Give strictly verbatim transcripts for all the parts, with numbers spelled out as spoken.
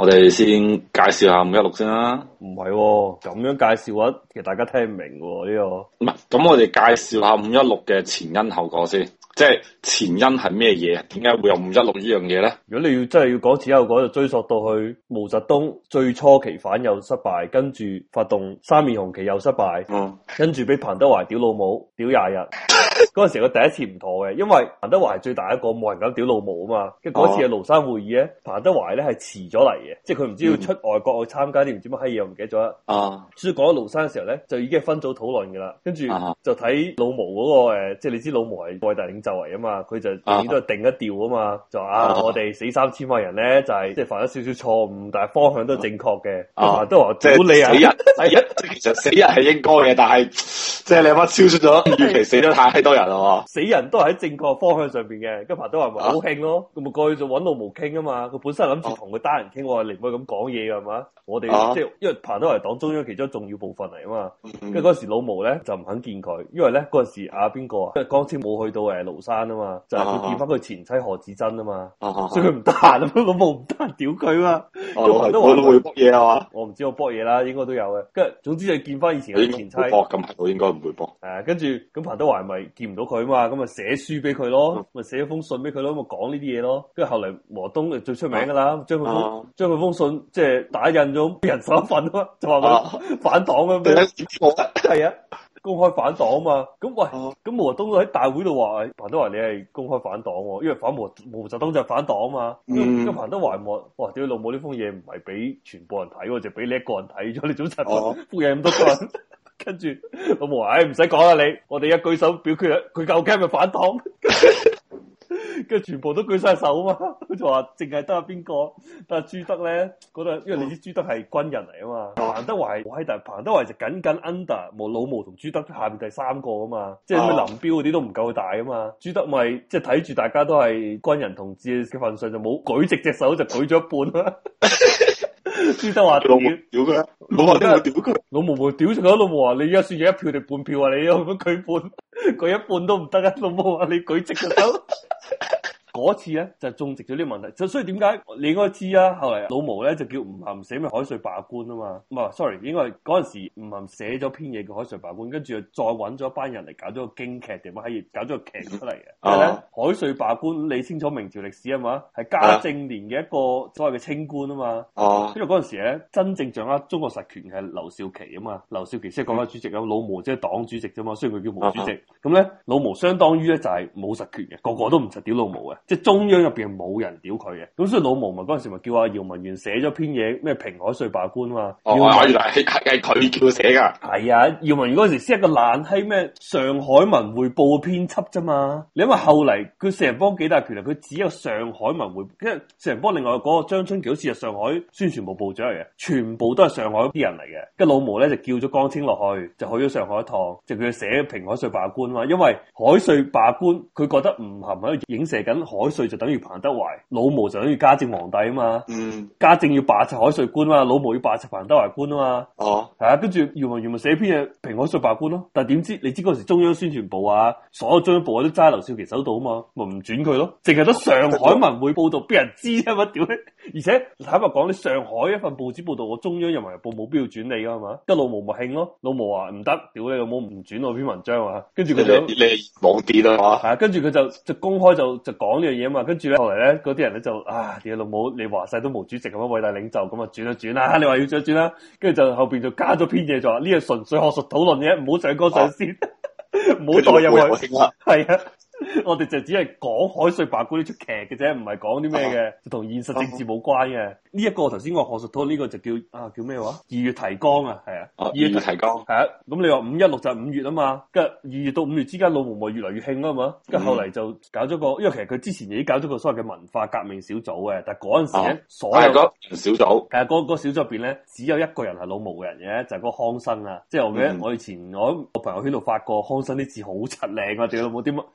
我哋先介紹下五一六先啦。 唔係喎，咁樣介紹嘅話，其實大家聽唔明喎呢、這個。 唔係，咁我哋介紹下五一六嘅前因後果先。即係前因係咩嘢？點解會有五一六呢樣嘢咧？ 如果你要真係要講前因後果，就追溯到去毛澤東最初期反右失敗，跟住發動三面紅旗又失敗， 嗯， 跟住俾彭德懷屌老母，屌廿日。嗰陣時佢第一次唔妥嘅，因為彭德懷係最大一個，冇人敢屌老母啊嘛。跟住嗰次嘅廬山會議咧，彭德懷咧係遲咗嚟嘅，即係佢唔知要出外國去參加啲唔知乜閪嘢，我唔記得咗啦。 啊， 所以講到廬山嘅時候咧，就已經係分組討論噶啦。跟住就睇老毛嗰、那個誒，即係你知老毛係偉大領袖嚟啊嘛，佢就永遠都係定一調啊嘛，就話啊，啊我哋死三千萬人咧就係即係犯咗少少錯誤，但係方向都正確嘅。彭德懷屌你啊！ 死人，死人，其實死人係應該嘅，但係即係你阿媽超出咗預期，死得太多人啦。 死人都係喺正確方向上邊嘅，跟彭德懷咪好興咯，咁咪過去就揾老毛傾啊嘛。佢本身諗住同佢單人傾，話你唔可以咁講嘢噶係嘛。我哋、啊、即係因為彭德懷黨中央其中重要部分嚟啊嘛。跟住嗰時老毛咧就唔肯見佢，因為咧嗰陣時阿邊個啊，因為江青冇去到誒廬山啊嘛，就係、是、佢見翻佢前妻何子珍啊嘛，啊所以佢唔得閒啊，老毛唔得閒屌佢嘛。彭德懷都會搏嘢啊嘛，我唔知我搏嘢啦，應該都有嘅。跟住總之就見翻以前嘅前妻。 搏咁係我應該唔會搏。 誒，跟住咁彭德懷咪見唔到佢啊嘛，咁咪寫書俾佢咯，咪寫咗封信俾佢咯，咪講呢啲嘢咯。跟住後嚟毛澤東最出名噶啦，將佢封將佢封信即係打印咗人手一份啊嘛，就話佢反黨咁樣。係啊，公開反黨啊嘛。咁喂，咁毛澤東都喺大會度話，彭德懷你係公開反黨，因為反毛毛澤東就係反黨啊嘛。咁、嗯、彭德懷話：哇，屌老母呢封嘢唔係俾全部人睇，就俾你一個人睇咗，你早晨封嘢咁多個人。跟住老毛話：唉，唔使講啦，你我哋一舉手表決啦，佢究竟係咪反黨？跟住全部都舉晒手啊嘛，佢就話淨係得阿邊個，但係朱德咧覺得，因為你知朱德係軍人嚟啊嘛，彭德懷我喺但係彭德懷就僅僅 under 冇老毛同朱德下面第三個啊嘛，即係咩林彪嗰啲都唔夠大啊嘛，朱德咪即係睇住大家都係軍人同志嘅份上就冇舉直隻手就舉咗一半啦。朱德話屌屌佢，老毛都冇屌佢， 老毛冇屌佢，老毛話你而家算嘢一票定半票啊？你有乜舉半？舉一半都唔得啊！老毛話你舉直隻手。嗰次咧就種植咗呢個問題，就所以點解你應該知啊？後嚟老毛咧就叫吳晗寫咩海瑞罷官啊嘛，唔係，sorry，應該係嗰陣時吳晗寫咗篇嘢叫海瑞罷官，跟住再揾咗一班人嚟搞咗個京劇定乜閪，搞咗個劇出嚟嘅。因為咧海瑞罷官，你清楚明朝歷史啊嘛，係嘉靖年嘅一個所謂嘅清官啊嘛。哦，因為嗰陣時咧真正掌握中國實權係劉少奇啊嘛，劉少奇即係國家主席啊，老毛即係黨主席啫嘛，雖然佢叫毛主席。咁咧老毛相當於咧就係冇實權嘅，個個都唔實屌老毛嘅。即係中央入邊冇人屌佢嘅，咁所以老毛咪嗰陣時咪叫阿姚文元寫咗篇嘢咩平海瑞罷官嘛。 哦，原來係係佢叫佢寫噶。係啊，姚文元嗰陣時先係一個爛閪咩上海文匯報嘅編輯啫嘛。你因為後嚟佢四人幫幾大權力，佢只有上海文匯，因為四人幫另外嗰個張春橋好似係上海宣傳部部長嚟嘅，全部都係上海啲人嚟嘅。跟老毛咧就叫咗江青落去，就去咗上海一趟，就叫佢寫平海瑞罷官嘛。因為海瑞罷官，佢覺得吳晗喺度影射緊海瑞就等於彭德懷，老毛就等於嘉靖皇帝啊嘛。嗯，嘉靖要罷黜海瑞官啊嘛，老毛要罷黜彭德懷官啊嘛。哦，係啊，跟住姚文元咪寫篇嘢平海瑞罷官咯。但係點知你知嗰時中央宣傳部啊，所有中央部啊都揸劉少奇手度啊嘛，咪唔轉佢咯，淨係得上海文匯報道俾人知啊嘛，屌你！而且坦白講，你上海一份報紙報道，我中央人民日報冇必要轉你噶嘛。跟老毛咪興咯，老毛話唔得，屌你老母唔轉我篇文章啊。跟住佢就你網啲啦嘛， 係啊，跟住佢就就公開就就講呢樣嘢啊嘛。跟住咧後嚟咧嗰啲人咧就啊，屌老母，你話晒都毛主席咁樣偉大領袖咁啊，轉一轉啦，你話要轉一轉啦，跟住就後邊就加咗篇嘢就話呢個純粹學術討論嘅，唔好上綱上線，唔好代入去，係啊。我哋就只係講海瑞罷官呢出劇嘅啫，唔係講啲咩嘅，就同現實政治冇關嘅。呢、這、一個頭先我學術討論呢個就叫啊叫咩話？二月提綱啊，係啊， 二月提綱係啊。咁你話五一六就係五月啊嘛，跟住二月到五月之間，老毛咪越嚟越興啊嘛。跟住後嚟就搞咗個，因為其實佢之前已經搞咗個所謂嘅文化革命小組嘅，但係嗰陣時咧，啊、所有個小組， 係啊，嗰、那個小組入邊咧，只有一個人係老毛嘅人嘅，就係、是、嗰個康生啊。即係我記得我以前我喺我朋友圈度發過康生啲字好柒靚啊，屌老母啲乜，即係好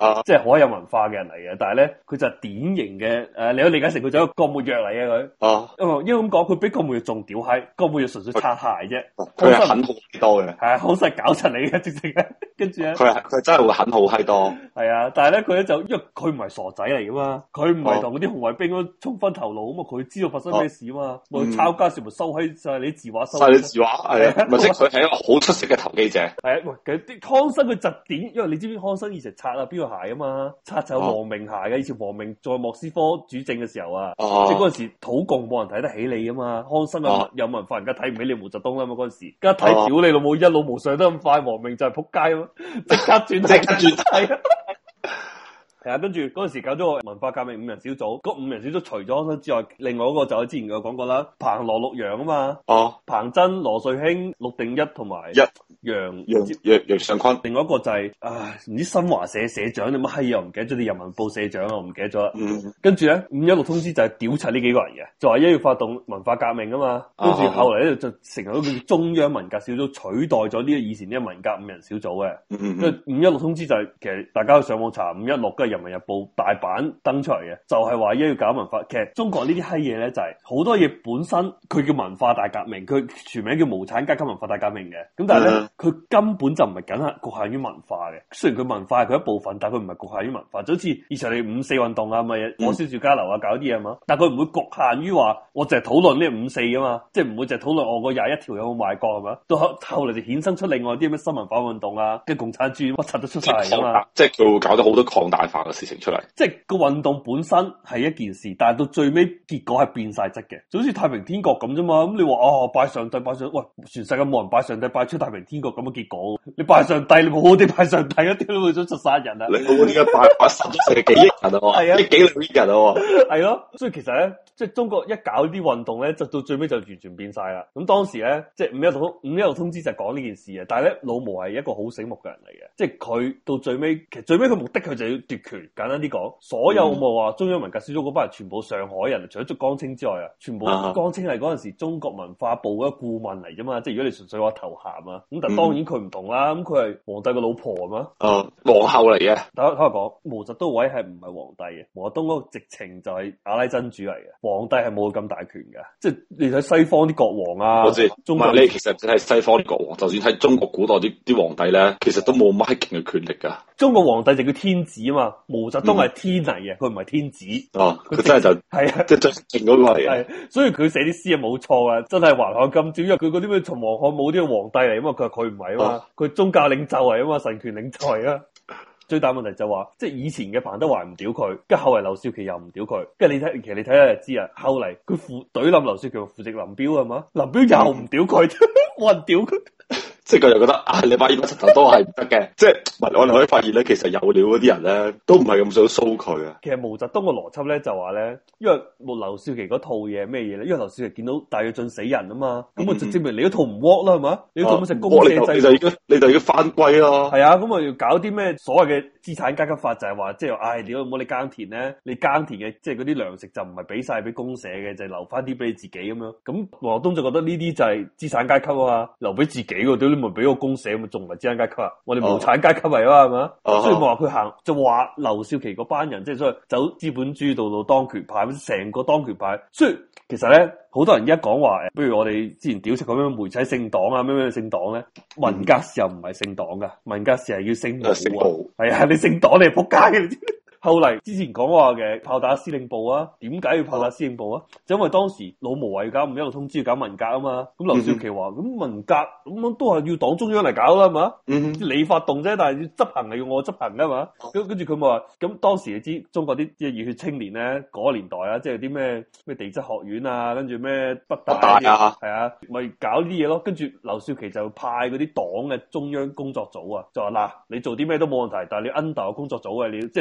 好有文化嘅人嚟嘅，但係咧佢就係典型嘅誒、呃，你可以理解成佢就係一個郭沫若嚟嘅佢。哦、啊，因為咁講，佢比郭沫若仲屌閪，郭沫若純粹擦鞋啫， 佢係狠好多嘅， 係啊，好細搞柒你嘅直情嘅，跟住咧， 佢係佢真係會狠好閪多。 係啊，但係咧佢咧就因為佢唔係傻仔嚟噶嘛，佢唔係同嗰啲紅衛兵咁衝昏頭腦啊嘛，佢知道發生咩事啊嘛，咪、啊、抄家時咪收喺晒你字畫收。晒你字畫係啊， 咪即係佢係一個好出色嘅投機者。 係啊，喂，啲康生佢疾點，因為你知唔知康生以前擦啊邊個鞋啊嘛，擦就黃明鞋嘅，以前黃明在莫斯科主政嘅時候啊，即係嗰陣時土共冇人睇得起你啊嘛，康生有有文化人家睇唔起你毛澤東啦嘛嗰陣時，而家睇屌你老母一老無上得咁快，黃明就係仆街啊嘛，即刻轉即刻轉係啊。係啊，跟住嗰陣時搞咗個文化革命五人小組，嗰五人小組除咗康生之外，另外一個就係之前有講過啦，彭羅陸楊啊嘛，哦，彭真、羅瑞卿、陸定一同埋一楊楊楊楊尚昆，另外一個就係、是、唉唔知新華社社長定乜閪嘢，我唔記得咗啲人民報社長啊，我唔記得咗啦。嗯，跟住咧五一六通知就係屌柒呢幾個人嘅，就話一要發動文化革命啊嘛，跟住後嚟咧就成為咗叫中央文革小組，取代咗呢個以前呢個文革五人小組嘅。嗯，跟住五一六通知就係、是、其實大家去上網查五一六跟住。人民日報大版登出嚟嘅，就係話一要搞文化。其實中國呢啲閪嘢咧，就係、是、好多嘢本身佢叫文化大革命，佢全名叫無產階級文化大革命嘅。咁但係咧，佢、嗯、根本就唔係僅係局限於文化嘅。雖然佢文化係佢一部分，但係佢唔係局限於文化。就好似以前你五四運動啊，咪火燒住交流啊，搞啲嘢嘛。但係佢唔會局限於話我淨係討論呢五四啊嘛，即係唔會淨係討論我個廿一條有冇賣國係嘛。到後後嚟就衍生出另外啲咩新文化運動啊，跟共產主義乜柒都出晒嚟啊嘛。即係佢會搞到好多擴大化嘅事情出嚟，即係個運動本身係一件事，但係到最尾結果係變晒質嘅，就好似太平天國咁啫嘛。咁你話哦拜上帝拜上，喂全世界冇人拜上帝，拜出太平天國咁嘅結果。你拜上帝，你冇好啲拜上帝一啲都會想出殺人啊！你冇點解拜拜十成幾億人啊？係啊，幾兩億人啊？係咯，所以其實咧，即係中國一搞啲運動咧，就到最尾就完全變晒啦。咁當時咧，即係五一六五一六通知就係講呢件事嘅，但係咧老毛係一個好醒目嘅人嚟嘅，即係佢到最尾其實最尾佢目的佢就要奪權。簡單啲講，所有冇話中央文革小組嗰班人全部上海人，除咗捉江青之外啊，全部江青係嗰陣時中國文化部嘅顧問嚟啫嘛。即係如果你純粹話頭銜啊，咁但當然佢唔同啦。咁佢係皇帝嘅老婆啊嘛，啊皇后嚟嘅。睇睇我講，毛澤東位係唔係皇帝嘅？毛澤東嗰個直情就係阿拉真主嚟嘅，皇帝係冇咁大權嘅。即係你睇西方啲國王啊，我知，中國你其實睇西方啲國王，就算睇中國古代啲啲皇帝咧，其實都冇乜勁嘅權力噶。中國皇帝就叫天子啊嘛，毛澤東係天嚟嘅，佢唔係天子。哦，佢真係就係啊，即係最勁嗰個嚟嘅。係，所以佢寫啲詩係冇錯啊，真係還看今朝，因為佢嗰啲咩從皇漢武啲皇帝嚟啊嘛，佢話佢唔係啊嘛，佢、哦、宗教領袖嚟啊嘛，神權領袖嚟啊。最大問題就話，即係以前嘅彭德懷唔屌佢，跟住後嚟劉少奇又唔屌佢，跟住你睇，其實你睇下就知啊。後嚟佢扶懟冧劉少奇，扶植林彪係嘛，林彪又唔屌佢，冇人屌佢。即係佢又覺得啊，你把呢把石頭都係唔得嘅，即係我哋可以發現咧，其實有料嗰啲人咧都唔係咁想騷佢啊。其實毛澤東嘅邏輯咧就話咧，因為劉少奇嗰套嘢係咩嘢咧？因為劉少奇見到大躍進死人啊嘛，咁啊、嗯、就證明你嗰套唔 work 啦，係嘛？你嗰套咁食公社制，你就已經你就要翻歸咯。係啊，咁啊要搞啲咩所謂嘅資產階級法，就係話即係唉，屌唔好你耕田咧，你耕田嘅即係嗰啲糧食就唔係俾晒俾公社嘅，就係、留翻啲俾你自己咁樣。咁毛澤東就覺得呢啲就係資產階級啊嘛，留俾自己喎，咪俾個公社咪仲唔係資產階級啊？我哋無產階級嚟啊，係嘛？所以我話佢行就話劉少奇嗰班人，即係所謂走資本主義道路當權派，成個當權派。所以其實咧，好多人而家講話誒，不如我哋之前屌出咁樣媒體姓黨啊，咩咩姓黨咧？文革時候唔係姓黨噶，文革時係要姓毛啊。係啊，你姓黨你係仆街嘅，你知。後嚟之前講話嘅炮打司令部啊，點解要炮打司令部啊？就因為當時老毛話要搞五一六通知要搞文革啊嘛，咁劉少奇話咁文革咁樣都係要黨中央嚟搞啦，係嘛？嗯，你發動啫，但係要執行係要我執行噶嘛？咁跟住佢咪話，咁當時你知中國啲即係熱血青年咧，嗰、那個年代啊，即係啲咩咩地質學院啊，跟住咩北大啊，係啊，咪搞啲嘢咯。跟住劉少奇就派嗰啲黨嘅中央工作組啊，就話嗱，你做啲咩都冇問題，但係你 under 個工作組嘅，你即係你唔可以亂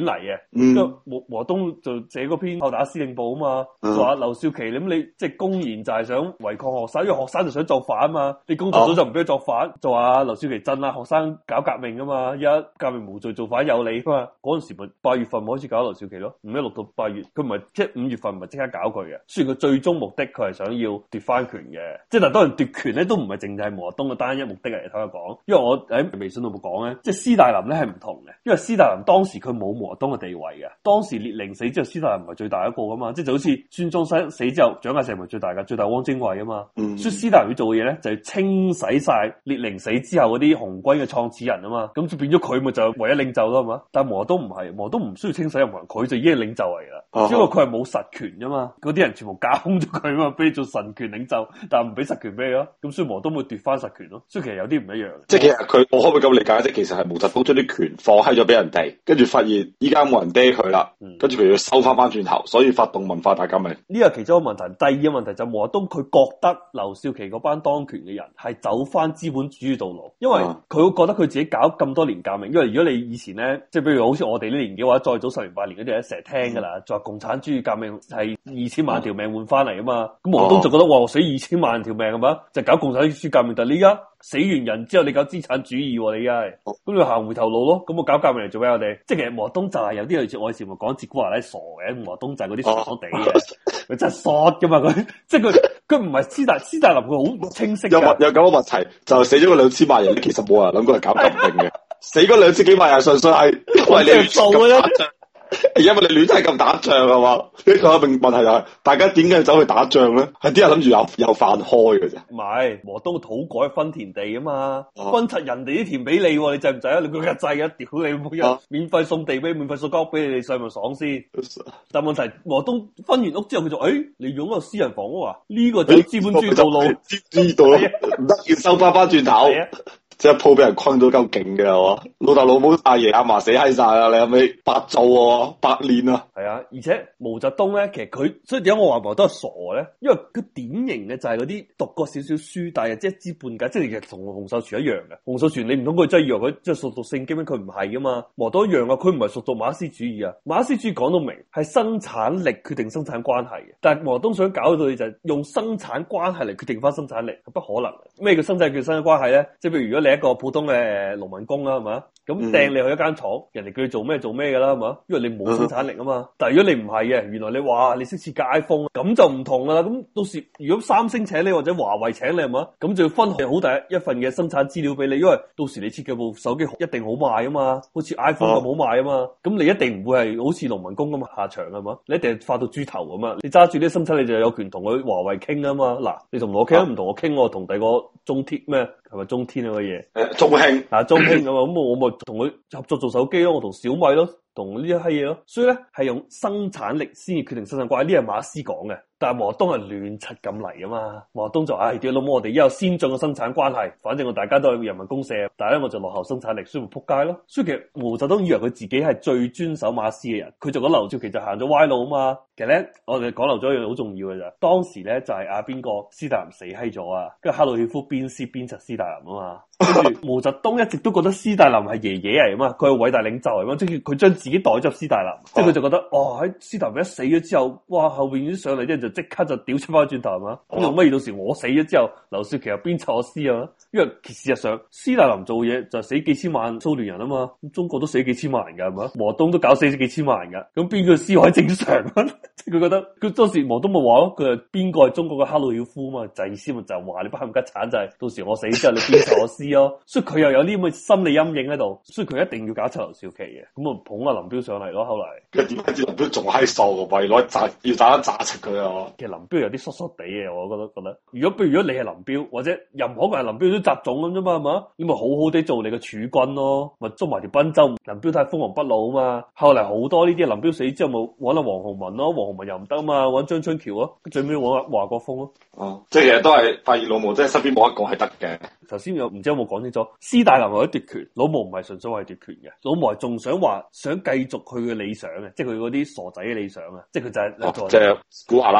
嚟嘅。 嗯， 咁毛毛澤東就寫嗰篇炮打司令部啊嘛， 嗯、 就話劉少奇，你咁你即係公然就係想違抗學生，因為學生就想作反啊嘛，你工作組就唔俾佢作反，哦、就話劉少奇鎮壓學生搞革命啊嘛，而家革命無罪造反有理啊嘛，嗰陣時咪八月份咪開始搞劉少奇咯，五一六到八月，佢唔係即係五月份唔係即刻搞佢嘅，雖然佢最終目的佢係想要奪翻權嘅，即係但係當然奪權咧都唔係淨係毛澤東嘅單一目的嚟，聽我講，因為我喺微信度冇講咧，即係斯大林咧係唔同嘅，因為斯大林當時佢冇毛澤東嘅地位嘅，當時列寧死之後，斯大林唔係最大一個噶嘛，即係就好似孫中山死之後，蔣介石唔係最大噶，最大汪精衛啊嘛，嗯、所以斯大林要做嘅嘢咧就係、是、清洗晒列寧死之後嗰啲紅軍嘅創始人啊嘛，咁就變咗佢咪就唯一領袖咯，係嘛？但係毛澤東唔係，毛澤東唔需要清洗任何人，佢就已經係領袖嚟噶，只不過佢係冇實權啫嘛，嗰啲人全部架空咗佢啊嘛，俾你做神權領袖，但係唔俾實權俾你咯，咁所以毛澤東會奪翻實權咯，所以其實有啲唔一樣。 即係其實佢，我可唔可以咁理解？即係其實係毛澤東將啲權放喺咗俾人哋，跟住發現依家冇人嗲佢啦，跟住佢要收翻翻轉頭，所以發動文化大革命。 呢個係其中一個問題。第二個問題就毛澤東佢覺得劉少奇嗰班當權嘅人係走翻資本主義道路，因為佢會覺得佢自己搞咁多年革命，因為如果你以前咧，即係比如好似我哋呢年紀或者再早十年八年嗰啲咧，成日聽噶啦，就話共產主義革命係二千萬條命換翻嚟啊嘛，咁毛澤東就覺得哇，死二千萬條命係嘛，就搞共產主義革命，但係你而家死完人之後，你搞資產主義，你而家係，咁你行回頭路咯，咁我搞革命嚟做咩我哋？即係其實毛澤東就係有啲類似我以前咪講哲古華拉傻嘅，毛澤東就係嗰啲傻傻地嘅，佢真係傻噶嘛佢，即係佢佢唔係斯大斯大林，佢好清晰。有有咁嘅問題，就死咗個兩千萬人，其實冇人諗過係搞革命嘅，死嗰兩千幾萬人純粹係因為你做嘅啫。因為你亂睇咁打仗係嘛？呢個問題就係大家點解要走去打仗咧？係啲人諗住有有飯開嘅啫。 唔係，毛澤東土改分田地啊嘛，啊分拆人哋啲田俾你，你制唔制啊？你佢梗制啊！屌你每日免費送地俾，免費送間屋俾你，你上咪爽先。啊、但問題毛澤東分完屋之後，佢就誒、哎，你擁個私人房屋啊？呢、這個就資本主義道路， 知道唔得要收翻翻轉頭。即係鋪俾人困到夠勁嘅係嘛？老豆老母阿爺阿嫲死閪晒啦，你係咪白做喎？白練啊！ 係啊，而且毛澤東咧，其實佢所以點解我話毛澤東係傻咧？因為佢典型嘅就係嗰啲讀過少少書，但係即係一知半解，即係其實同洪秀全一樣嘅。洪秀全你唔通佢真係以為佢即係熟讀聖經咩？佢唔係噶嘛。毛澤東一樣啊，佢唔係熟讀馬克思主義啊。馬克思主義講到明係生產力決定生產關係嘅，但係毛澤東想搞到你就係用生產關係嚟決定翻生產力，係不可能。咩叫生產決生產關係咧？即係譬如如果你一個普通嘅農民工啦，係嘛？咁掟你去一間廠，人哋叫你做咩做咩噶啦，係嘛？因為你冇生產力啊嘛。但係如果你唔係嘅，原來你話你識設計 iPhone，咁就唔同噶啦。咁到時如果三星請你或者華為請你，係嘛？咁就要分好大一份嘅生產資料俾你，因為到時你設計部手機一定好賣啊嘛，好似 iPhone 咁好賣啊嘛。咁你一定唔會係好似農民工咁下場係嘛？你一定係發到豬頭咁啊！你揸住啲生產，你就有權同佢華為傾啊嘛。嗱，你同我傾唔同我傾，我同第二個中鐵咩？係咪中天啊個嘢？ 誒，中興啊，中興啊嘛，咁我咪同佢合作做手機咯，我同小米咯，同呢一閪嘢咯，所以咧係用生產力先至決定生產關係，呢係馬克思講嘅。但係毛澤東係亂柒咁嚟啊嘛，毛澤東就唉屌老母，我哋而家有先進嘅生產關係，反正我大家都係人民公社，但係咧我就落後生產力，所以咪撲街咯。所以其實毛澤東以為佢自己係最遵守馬克思嘅人，佢就講劉少奇就行咗歪路啊嘛。其實咧，我哋講漏咗一樣好重要嘅咋，當時咧就係阿邊個斯大林死閪咗啊，跟住赫魯曉夫鞭屍鞭策斯大林啊嘛。跟住毛澤東一直都覺得斯大林係爺爺嚟啊嘛，佢係偉大領袖嚟嘛，即係佢將自己代入斯大林，即係佢就覺得哦喺斯大林一死咗之後，哇後邊啲上嚟啲人就即刻就屌出翻轉頭係嘛，咁用乜嘢到時我死咗之後，劉少奇又鞭策我屍啊？因為事實上斯大林做嘢就死幾千萬蘇聯人啊嘛，咁中國都死幾千萬人噶係嘛，毛澤東都搞死咗幾千萬人噶，咁邊個屍位正常？即係佢覺得佢當時毛澤東咪話咯，佢係邊個係中國嘅赫魯曉夫啊嘛，就意思咪就話你不冚家鏟就係到時我死之後你鞭策我屍咯，所以佢又有啲咁嘅心理陰影喺度，所以佢一定要搞出劉少奇嘅，咁啊捧阿林彪上嚟咯，後嚟。 跟住點解知林彪仲閪瘦個，為攞炸要炸一炸出佢啊？ 其實林彪有啲疏疏地嘅，我覺得覺得。如果譬如如果你係林彪或者任何一個係林彪都雜種咁啫嘛，係嘛？你咪好好地做你嘅儲軍咯，咪捉埋條賓州。林彪太鋒芒不露啊嘛。後嚟好多呢啲林彪死之後冇揾阿黃洪文咯，黃洪文又唔得啊嘛，揾張春橋咯，最尾揾阿華國鋒咯。 哦，即係其實都係發現老毛，即係身邊冇一個係得嘅。 頭先有唔知有冇講清楚？斯大林為咗奪權，老毛唔係純粹為奪權嘅，老毛係仲想話想繼續佢嘅理想嘅，即係佢嗰啲傻仔嘅理想啊，即係佢就係、是哦、 即係古華拉。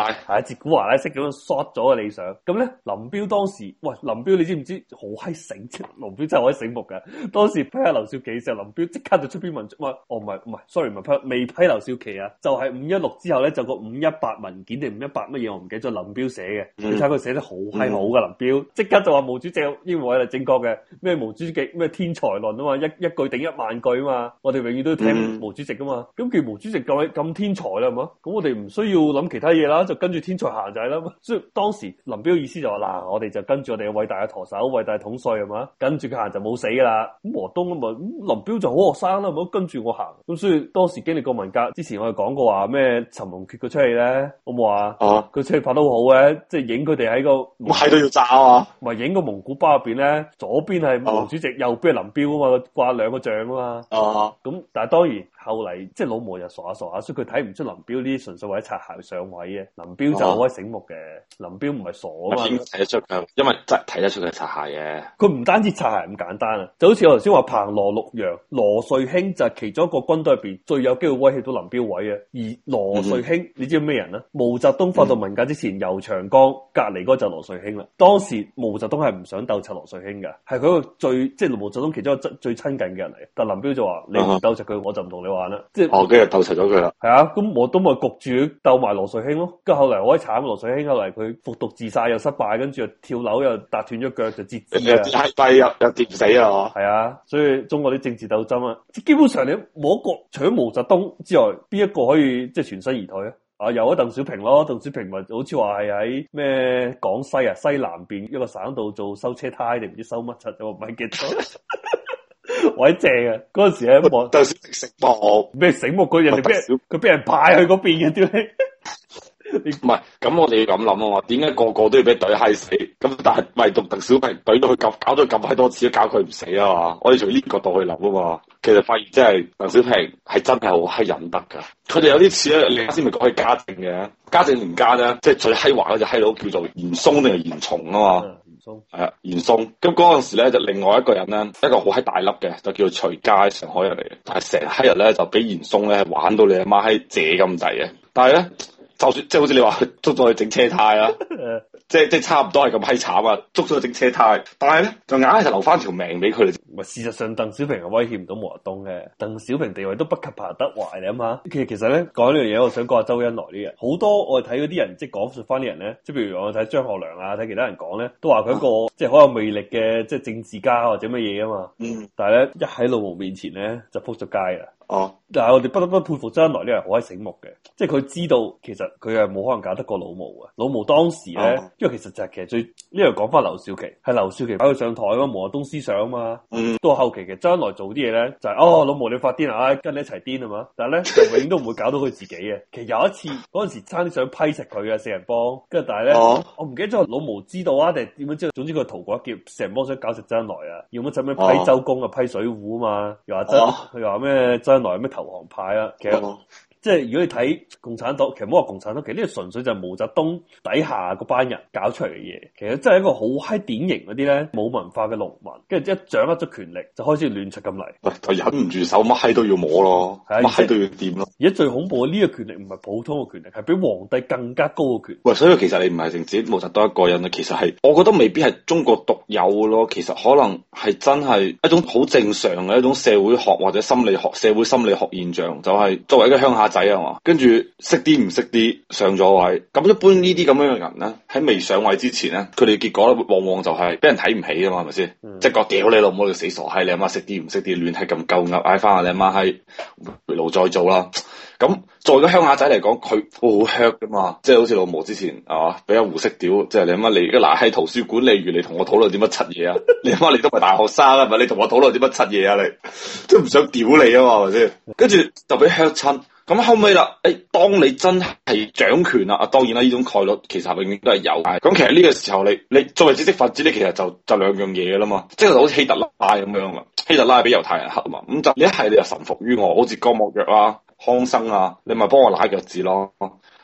係係自古華拉式咁樣 short 咗個理想。咁咧林彪當時，喂林彪你知唔知好閪醒？林彪真係好閪醒目嘅。當時批下劉少奇嘅時候，林彪即刻就出篇文章，話哦唔係唔係，sorry 唔係批未批劉少奇啊，就係五一六之後咧就個五一八文件定五一八乜嘢我唔記得咗，林彪寫嘅。嗯、你睇佢寫得好閪好噶，林彪即刻就話毛主席英文係正確嘅，咩毛主席咩天才論啊嘛，一一句頂一萬句啊嘛，我哋永遠都要聽毛主席噶嘛。咁既然毛主席咁咁天才啦，係嘛，咁我哋唔需要諗其他嘢啦，就跟住天才行就係啦。所以當時林彪意思就話嗱，我哋就跟住我哋嘅偉大嘅舵手、偉大嘅統帥係嘛，跟住佢行就冇死噶啦。咁毛澤東咁啊，林彪就好學生啦，唔好跟住我行。咁所以當時經歷過文革之前，我哋講過話咩陳龍缺個出戲咧，好冇啊？哦，佢出戲拍得好好嘅，即係影佢哋喺個喺度要炸啊！ 唔係影個蒙古包入邊咧，左邊係毛主席，哦、右邊係林彪啊嘛，掛兩個像啊嘛。哦，咁但係當然後嚟即係老毛又傻下傻下，所以佢睇唔出林彪呢啲純粹為咗擦鞋上位嘅。林彪就好鬼醒目嘅，哦、林彪唔係傻啊嘛。 睇得出佢，因為真係睇得出佢擦鞋嘅。 佢唔單止擦鞋咁簡單啊，就好似我頭先話彭羅陸楊羅瑞卿就係其中一個軍隊入邊最有機會威脅到林彪位嘅。而羅瑞卿、嗯、你知咩人啊？毛澤東發動文革之前，游、嗯、長江隔籬嗰就羅瑞卿啦。當時毛澤東係唔想鬥柒羅瑞卿嘅，係佢個最即係毛澤東其中一個最親近嘅人嚟。但林彪就話：你唔鬥柒佢，我就唔同你玩啦。即係哦，跟住鬥柒咗佢啦。係啊，咁毛澤東咪焗住鬥埋羅瑞卿咯。跟住後嚟好鬼慘，羅瑞卿後嚟佢服毒自殺又失敗，跟住又跳樓又搭斷咗腳就截肢啊， 太低又又跌唔死啊！ 係啊，所以中國啲政治鬥爭啊，基本上你冇一個除咗毛澤東之外，邊一個可以即係全身而退啊？啊，有啊，鄧小平咯，鄧小平咪好似話係喺咩廣西啊西南邊一個省度做修車胎定唔知修乜柒，我唔係記得。位正啊！嗰陣時喺望鄧小平醒目咩醒目？佢人哋俾佢俾人派去嗰邊嘅屌你！ 唔係，咁我哋要咁諗啊嘛？點解個個都要俾懟閪死？咁但係唯獨鄧小平懟到佢咁，搞咗咁閪多次都搞佢唔死啊嘛？我哋從呢個角度去諗啊嘛，其實發現真係鄧小平係真係好閪忍得噶。佢哋有啲似咧，你啱先咪講起嘉靖嘅，嘉靖年間咧，即係最閪華嗰隻閪佬叫做嚴嵩定係嚴嵩啊嘛？嚴嵩係啊，嚴嵩。咁嗰陣時咧就另外一個人咧，一個好閪大粒嘅，就叫做徐階，上海人嚟嘅，但係成閪日咧就俾嚴嵩咧玩到你阿媽閪謝咁滯嘅，但係咧。就算即係好似你話捉咗去整車胎啦，即係即係差唔多係咁閪慘啊！捉咗去整車胎，但係咧就硬係就留翻條命俾佢哋。 唔係事實上，鄧小平係威脅唔到毛澤東嘅，鄧小平地位都不及彭德懷，你諗下。其實其實咧講呢樣嘢，我想講下周恩來啲人。好多我哋睇嗰啲人，即係講述翻啲人咧，即係譬如我睇張學良啊，睇其他人講咧，都話佢一個、啊、即係好有魅力嘅即係政治家或者乜嘢啊嘛。嗯。但係咧一喺老毛面前咧就仆咗街啦。哦，但係我哋不得不佩服周恩來呢個人好閪醒目嘅，即係佢知道其實佢係冇可能搞得過老毛嘅。老毛當時咧，哦、因為其實就係其實最呢樣講翻劉少奇，係劉少奇擺佢上台啊嘛，毛澤東思想啊嘛。嗯。到後期其實周恩來做啲嘢咧，就係、是、哦老毛你發癲啊，哎、跟你一齊癲啊嘛。但係咧就永遠都唔會搞到佢自己嘅。其實有一次嗰陣時差啲想批實佢嘅四人幫，跟住但係咧、哦、我唔記得咗老毛知道啊定係點樣知道，總之佢逃過一劫，四人幫想搞實周恩來啊，要乜就咩批周公啊、哦、批水戶啊嘛，又話真佢話咩周來咩投降派啊？其實、哦、即係如果你睇共產黨，其實唔好話共產黨，其實呢個純粹就係毛澤東底下嗰班人搞出嚟嘅嘢。其實真係一個好閪典型嗰啲咧冇文化嘅農民，跟住一掌握咗權力就開始亂出咁嚟。喂，就忍唔住手，乜閪都要摸咯，乜閪都要掂咯。而家最恐怖嘅呢個權力唔係普通嘅權力，係比皇帝更加高嘅權力。喂，所以其實你唔係淨止毛澤東一個人啊，其實係我覺得未必係中國獨有嘅咯。其實可能係真係一種好正常嘅一種社會學或者心理學、社會心理學現象，就係、是、作為一個鄉下仔啊嘛，跟住識啲唔識啲上咗位。咁一般呢啲咁樣嘅人咧，喺未上位之前咧，佢哋結果咧往往就係俾人睇唔起啊嘛，係咪先？即係講屌你老母，你死傻閪，你阿媽識啲唔識啲，亂係咁鳩噏，嗌翻下你阿媽閪回爐再做啦。咁作為個鄉下仔嚟講，佢好 hurt 噶嘛，即係好似老毛之前係嘛，俾阿胡適屌，即係你阿媽你而家嗱喺圖書管理員，你同我討論啲乜柒嘢啊？你阿媽你都唔係大學生啊，係咪？你同我討論啲乜柒嘢啊？你都唔想屌你啊嘛，係咪先？跟住就俾 hurt 親。咁後尾啦，誒，當你真係掌權啦，啊，當然啦，呢種概率其實永遠都係有。咁其實呢個時候，你你作為知識分子，你其實就就兩樣嘢噶啦嘛，即係好似希特拉咁樣啊，希特拉俾猶太人黑啊嘛，咁就你一係你就臣服於我，好似江莫若啊、康生啊，你咪幫我拉腳趾咯。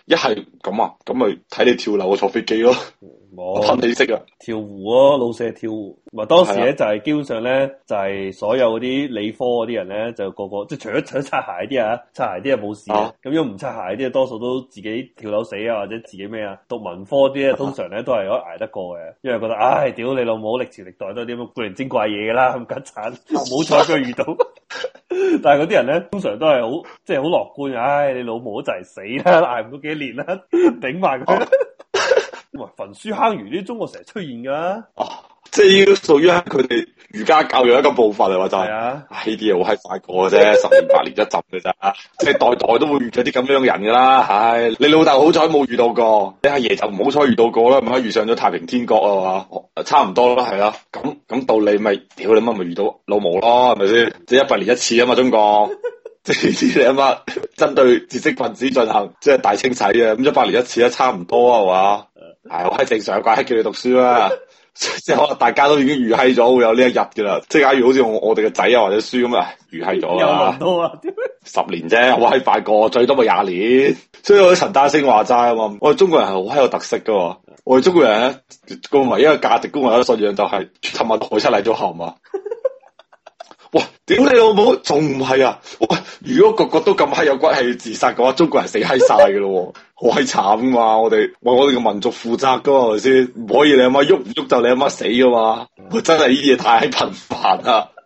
一係咁啊，咁咪睇你跳樓坐飛機咯。我噴你識啊！ 跳湖咯，老舍跳湖。唔係當時咧就係基本上咧就係所有嗰啲理科嗰啲人咧就個個即係除咗除咗擦鞋啲啊，擦鞋啲啊冇事啊。咁如果唔擦鞋啲啊，多數都自己跳樓死啊，或者自己咩啊。讀文科啲咧通常咧都係可以捱得過嘅，因為覺得唉屌你老母歷朝歷代都係啲咁古靈精怪嘢噶啦，咁緊慘，冇彩佢遇到。但係嗰啲人咧通常都係好即係好樂觀，唉你老母就係死啦，捱唔到幾年啦，頂埋佢。喂，焚書坑儒呢啲中國成日出現噶， 哦，即係呢個屬於佢哋儒家教育一個部分嚟，話就係、是， 啊， 呢啲嘢好閪快過嘅啫，十年八年一浸嘅咋，即係代代都會遇到啲咁樣嘅人噶啦，唉，你老豆好彩冇遇到過，你阿爺就唔好彩遇到過啦，咪遇上咗太平天國啊嘛，差唔多啦，係啦，咁咁道理咪，屌你媽咪遇到老毛咯，係咪先？即係一百年一次啊嘛，中國。即係啲你阿媽針對知識分子進行即係大清洗啊，咁一百年一次啊，差唔多啊，係嘛？係好閪正常，怪閪叫你讀書啦。即係可能大家都已經預閪咗會有呢一日噶啦。即係假如好似我我哋嘅仔啊或者書咁啊，預閪咗啦。 有啊， 十年啫，好閪快過，最多咪廿年。所以我啲陳丹青話齋啊嘛，我哋中國人係好閪有特色噶。我哋中國人咧個唯一嘅價值觀或者信仰就係尋日海出嚟咗後嘛。喂，屌你老母，仲唔係啊？喂，如果個個都咁閪有骨氣自殺嘅話，中國人死閪晒噶咯，好閪慘噶嘛！我哋為我哋嘅民族負責噶嘛，係咪先？唔可以你阿媽喐唔喐就你阿媽死噶嘛！喂，真係呢啲嘢太頻繁啦。